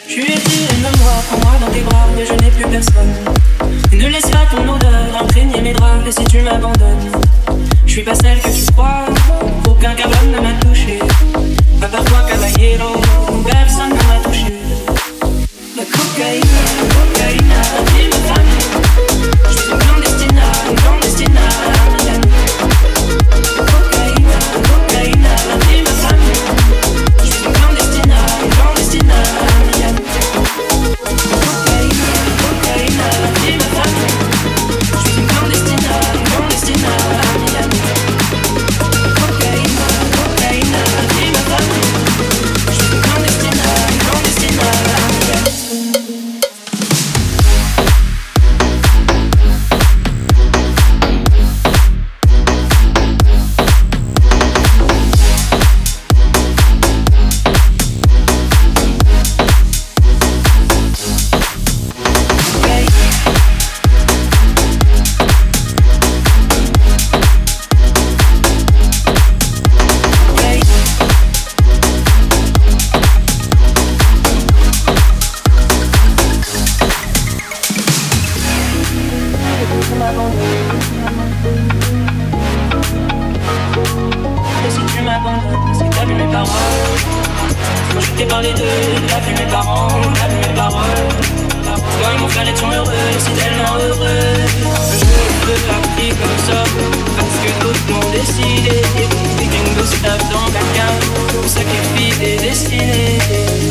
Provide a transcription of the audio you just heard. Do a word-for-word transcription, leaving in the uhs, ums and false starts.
Je lui ai dit aime-moi, prends-moi dans tes bras, mais je n'ai plus personne. Et ne laisse pas ton odeur imprégner mes draps, et si tu m'abandonnes, je suis pas celle que tu crois, aucun cabane ne m'a touché. À part toi, caballero, personne ne m'a touché. La cocaïne, la cocaïne, dis ma femme. Je suis une clandestina, une clandestina, Miami. La cocaïne, la cocaïne, dis ma femme. Je suis une clandestina, une clandestina, Miami. La cocaïne, la cocaïne, dis ma femme. Je suis une clandestina, une clandestina, Miami. La cocaïne, la cocaïne, dis ma femme. Je suis une clandestina, une clandestina, Miami. Et si tu m'abandonnes, c'est que t'as vu mes paroles. Moi je t'ai parlé d'eux, t'as vu mes parents, t'as vu mes paroles. Toi et mon frère étions heureux, c'est tellement heureux. Je ne peux pas vivre comme ça, parce que d'autres m'ont décidé. Et qu'une gosse tape dans quelqu'un, pour sacrifier des destinées.